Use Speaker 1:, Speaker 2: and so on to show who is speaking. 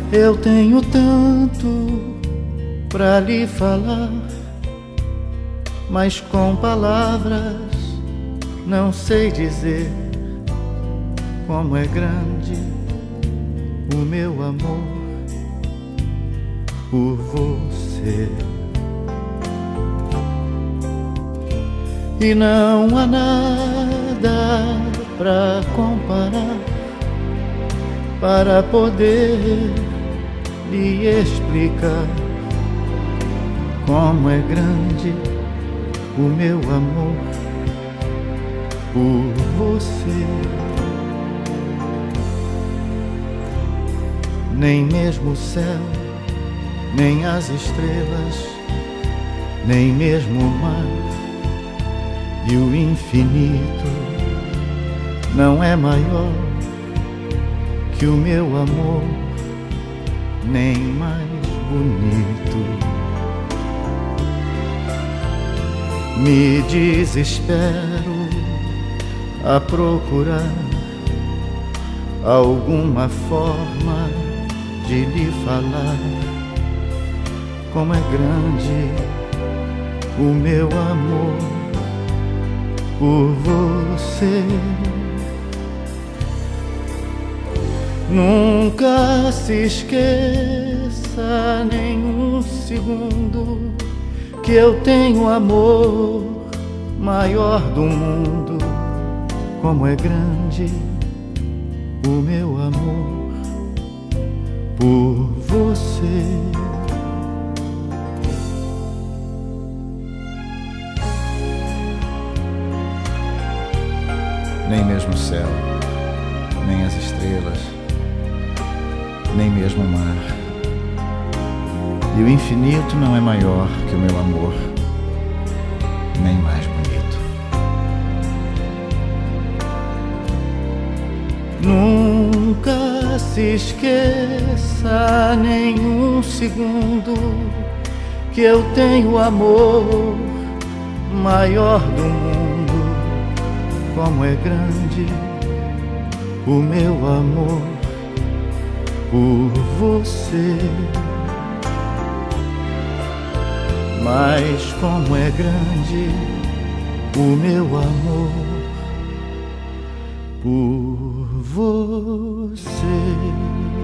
Speaker 1: Eu tenho tanto pra lhe falar, mas com palavras não sei dizer como é grande o meu amor por você. E não há nada pra comparar, para poder lhe explicar como é grande o meu amor por você. Nem mesmo o céu, nem as estrelas, nem mesmo o mar e o infinito não é maior que o meu amor, nem mais bonito. Me desespero a procurar alguma forma de lhe falar como é grande o meu amor por você. Nunca se esqueça nem um segundo que eu tenho amor maior do mundo. Como é grande o meu amor por você. Nem mesmo o céu, nem as estrelas, nem mesmo o mar e o infinito não é maior que o meu amor, nem mais bonito. Nunca se esqueça nem um segundo que eu tenho amor maior do mundo. Como é grande o meu amor por você. Mas como é grande o meu amor por você.